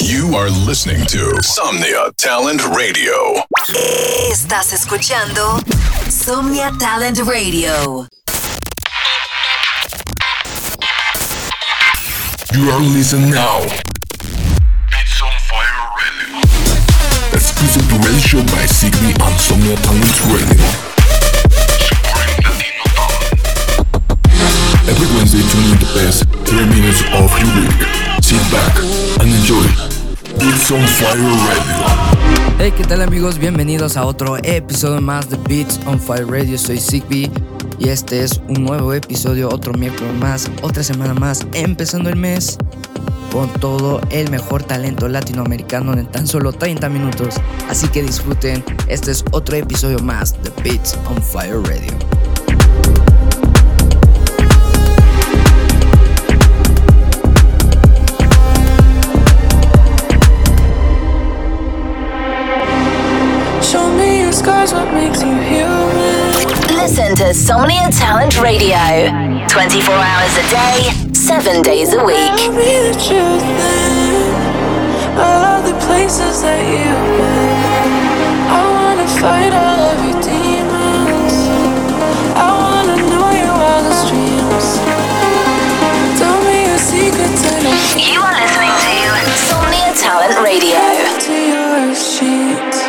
You are listening to Somnia Talent Radio. Estás escuchando Somnia Talent Radio. You are listening now. Beats on Fire Radio. Exclusive radio show by Sigby on Somnia Talent Radio. Supporting Latino talent. Every Wednesday, tune in the best 3 minutes of your week. Sit back and enjoy. Beats on Fire Radio. Hey, ¿qué tal amigos? Bienvenidos a otro episodio más de Beats on Fire Radio. Soy Sigby y este es un nuevo episodio, otro miércoles más, otra semana más, empezando el mes con todo el mejor talento latinoamericano en tan solo 30 minutos. Así que disfruten, este es otro episodio más de Beats on Fire Radio. What makes you human? Listen to Somnia Talent Radio 24 hours a day, 7 days a week. Tell me the truth then. All of the places that you've been. I wanna fight all of your demons. I wanna know your wildest dreams. Tell me your secrets and You are listening to Somnia Talent Radio. to your sheets.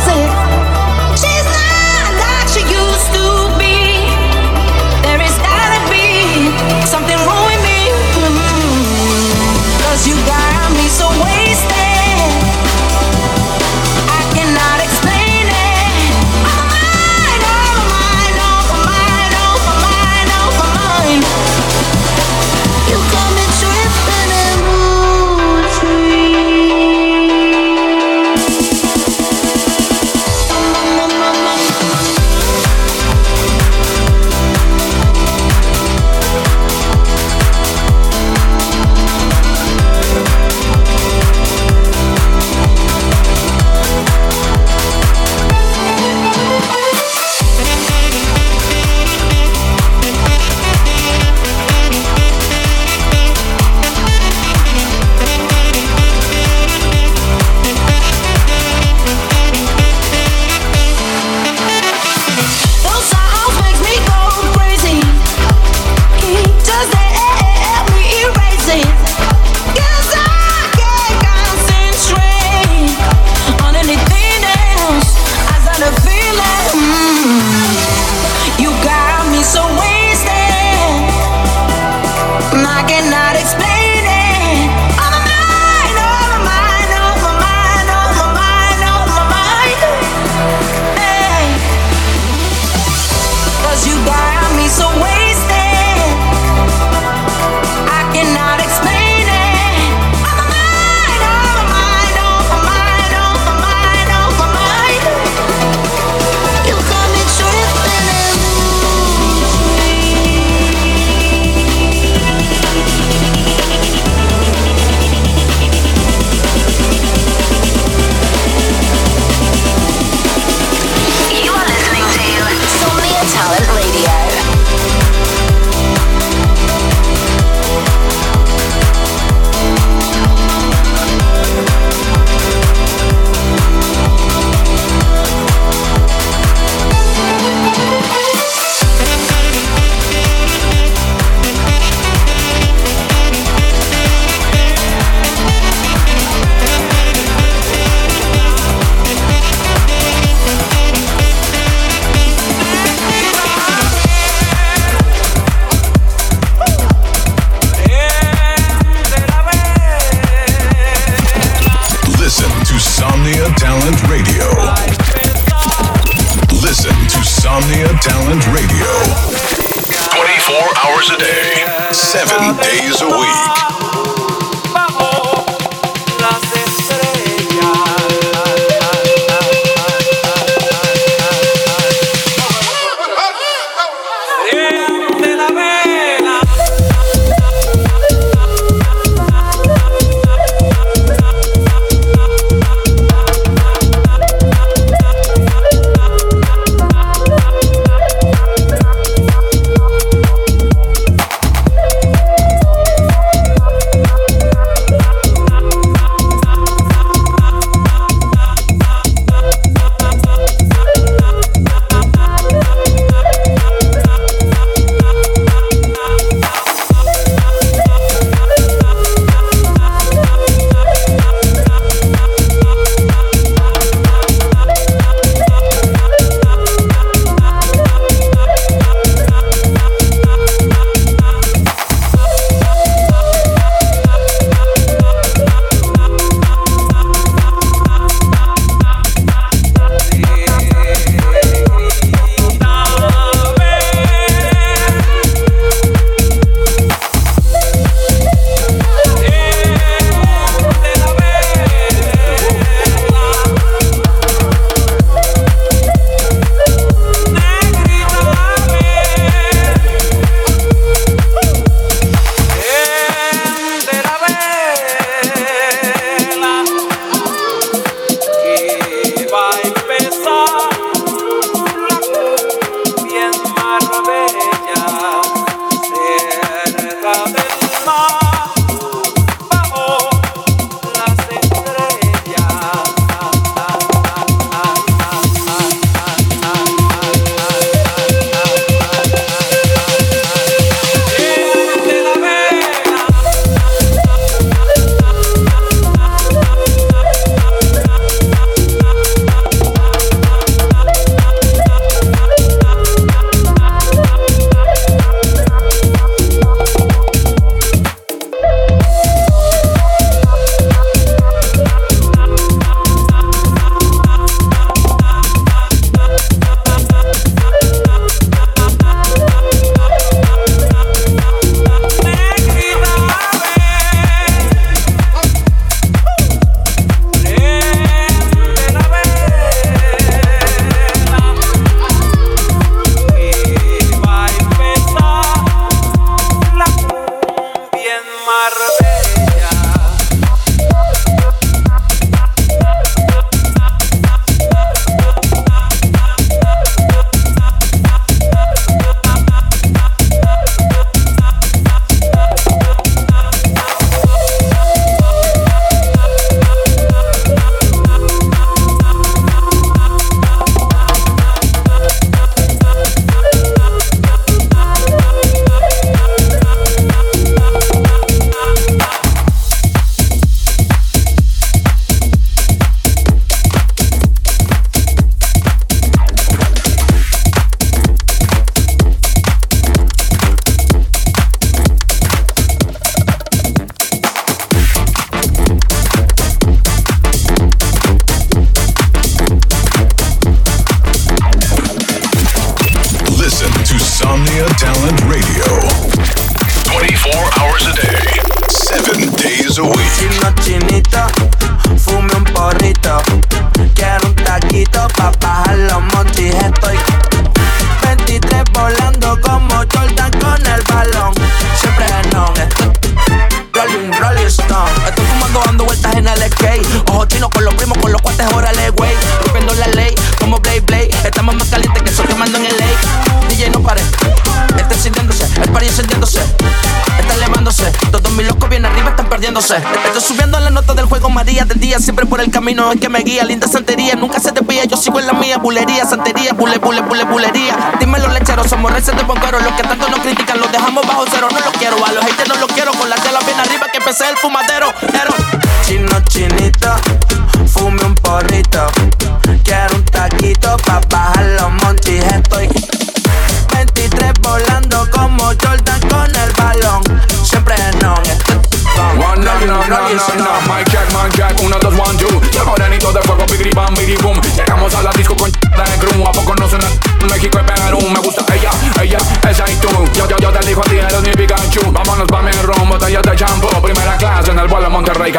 She's not like she used to be. There is Talent Radio. 24 hours a day, 7 days a week. Estoy subiendo la nota del juego María del día, siempre por el camino en que me guía. Linda santería, nunca se desvía, yo sigo en la mía. Bulería, santería, bulería. Dímelo lecheros, somos reces de bomberos. Los que tanto nos critican los dejamos bajo cero. No los quiero, a los haters no los quiero. Con la tela bien arriba que empecé el fumadero. Chino, chinita, fume un porrito. Quiero un taquito pa' bajar los monchis. Estoy 23 volando como Jordan con el balón. Siempre no. No, Mike check, 1, 2, 1, 2. Llegó Morenito de fuego, bigri bam, bigri boom. Llegamos a la disco con de crew. ¿A poco no suena? México es Perú. Me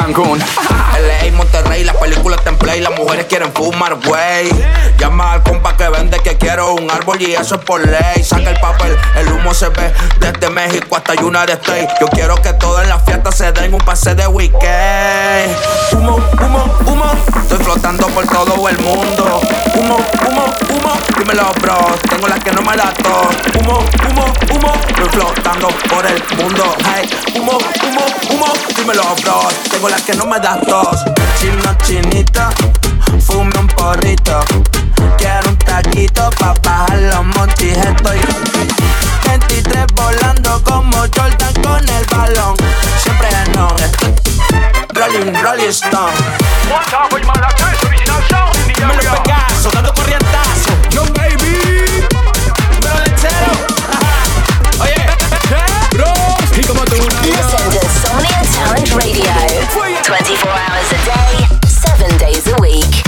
Cancún. LA, Monterrey, las películas están en play, las mujeres quieren fumar, güey. Llama al compa que vende que quiero un árbol y eso es por ley. Saca el papel, el humo se ve desde México hasta United States. Yo quiero que todo en la fiesta se den un pase de weekend. Humo, humo, humo, estoy flotando por todo el mundo. Humo, humo, humo, dímelo bro, tengo las que no me las tos. Humo, humo, humo, estoy flotando por el mundo. Hey, humo, humo, humo, dímelo bro, tengo las que no me das tos. Chino, chinito, fume un porrito. Quiero un taquito pa' bajar los montis. Estoy 23 volando como Jordan con el balón. Siempre no, Rolling, Rolling Stone. Me lo pegazo, dando corrientazo. Yo baby, Me lo lechero. Oye, bro, y como tú una Listen to Somnia Talent Radio. 24 hours a day, 7 days a week.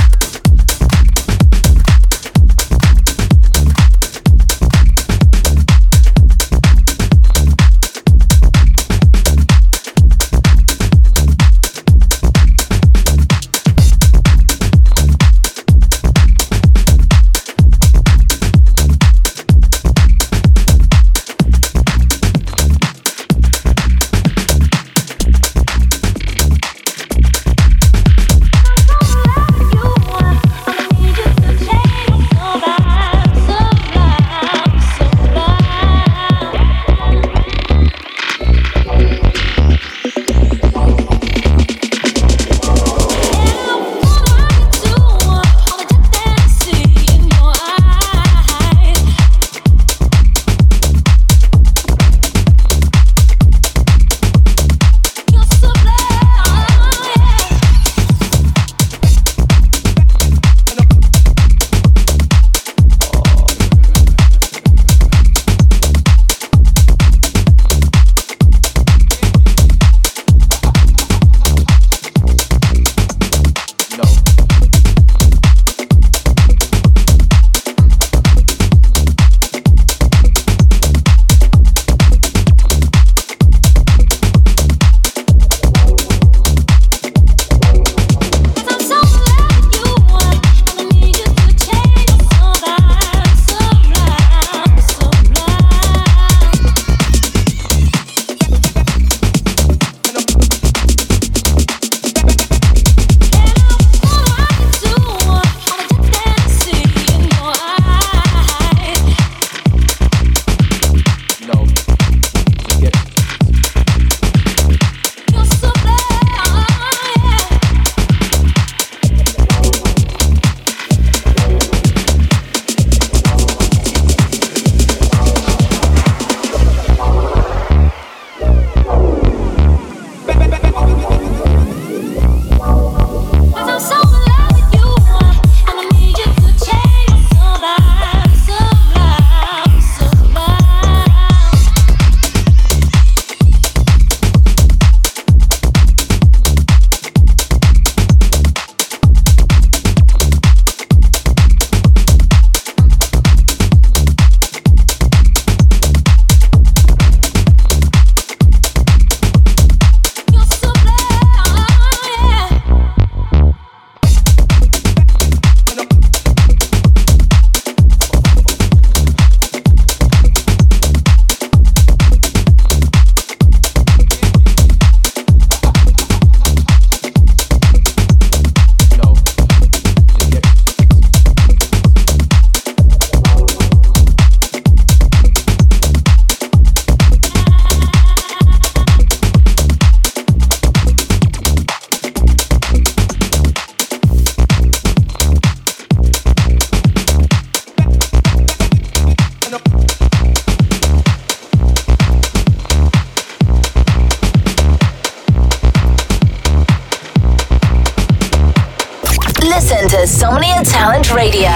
Somnia Talent Radio.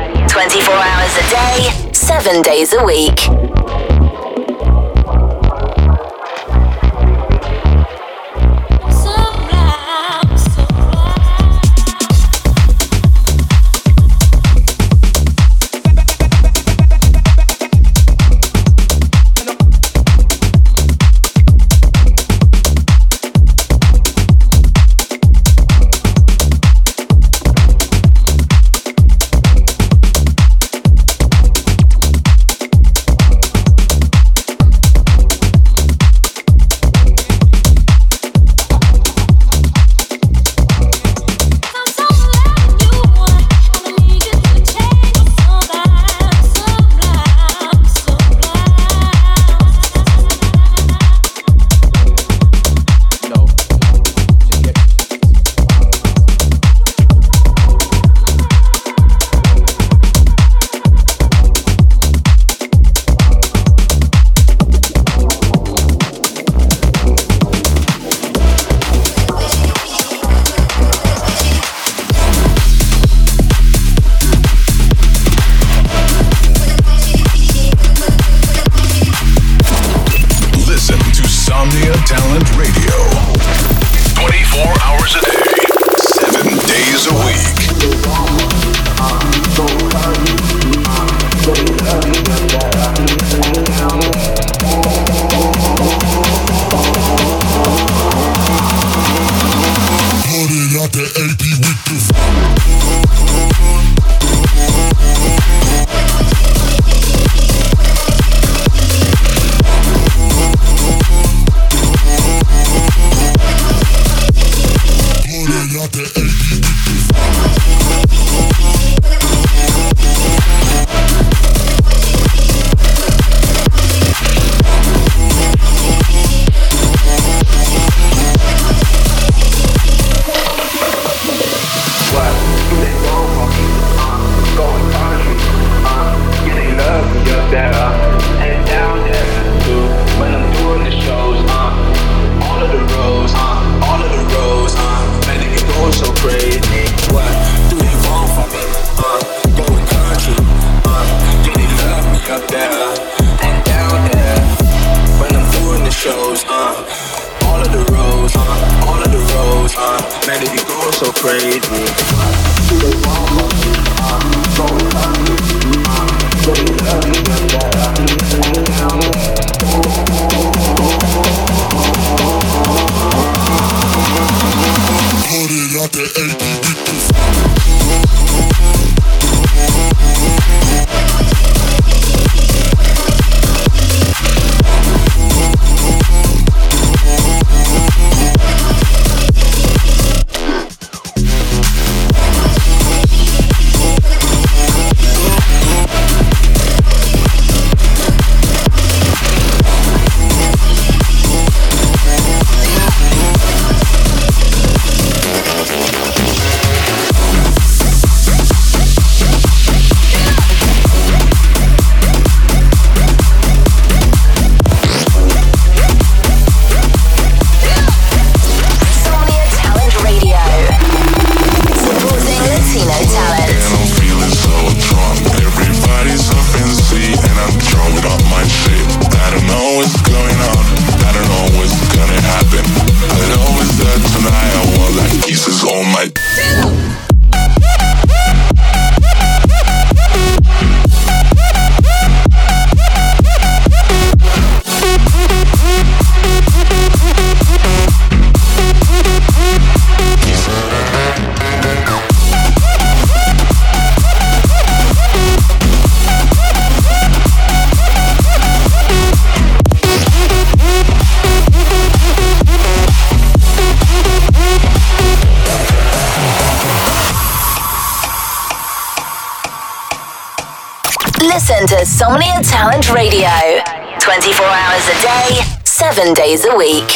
24 hours a day, 7 days a week. Talent Radio. 24 hours a day, 7 days a week. Put it out the AP with the Listen to Somnia Talent Radio. 24 hours a day, 7 days a week.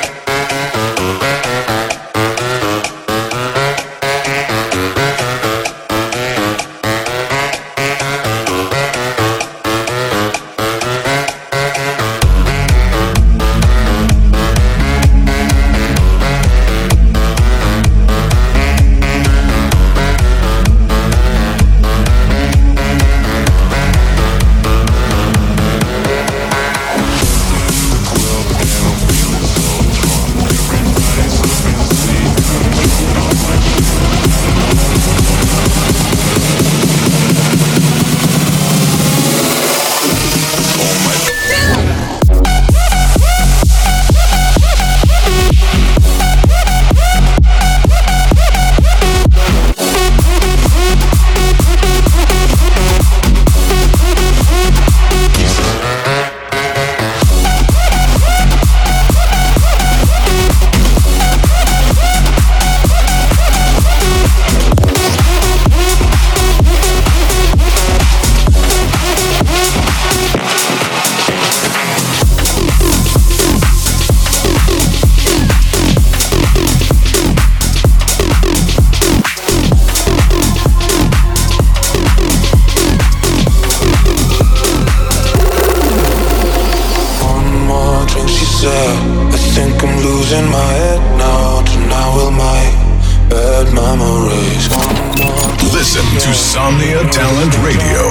Listen to Somnia Talent Radio.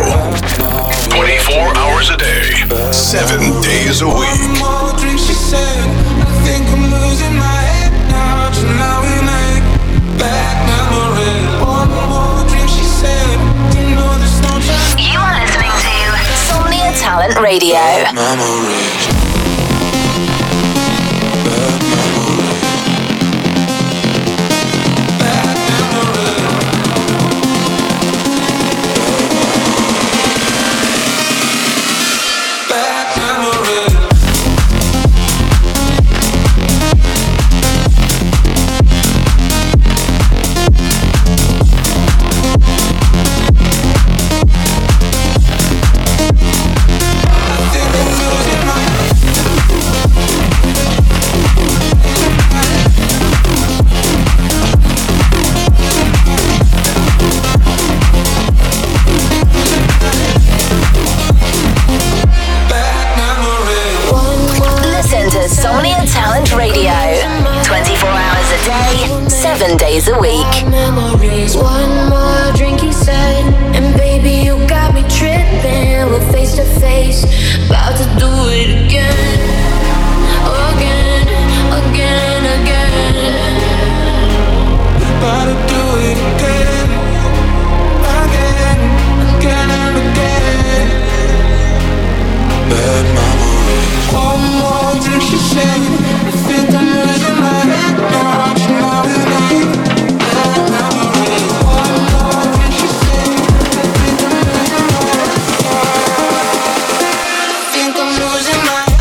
24 hours a day, 7 days a week. Talent Radio. Insomnia Talent Radio. 24 hours a day, 7 days a week. Memories. One more drink, he said, and baby, you got me tripping. We're face to face, about to do it again, again, again, again. About to do it again, again, again and again. Bad memories. One more drink, she said, I think I'm losing my head now. You know the name. Bad memories. One more drink, she said, I think I'm losing my head. I think I'm losing my head.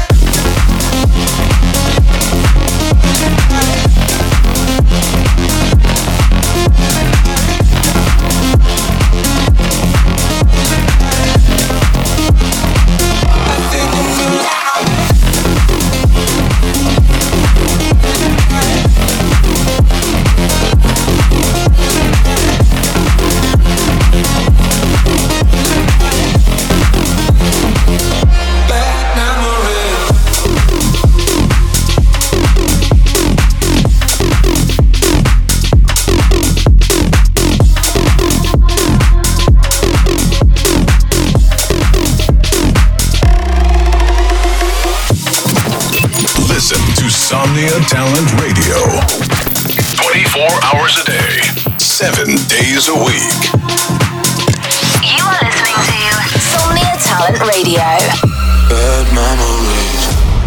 Insomnia Talent Radio. 24 hours a day, 7 days a week. You are listening to Insomnia Talent Radio. Bad memories.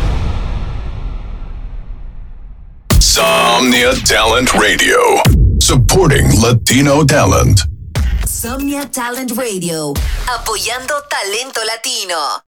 Insomnia Talent Radio. Supporting Latino talent. Insomnia Talent Radio, apoyando talento latino.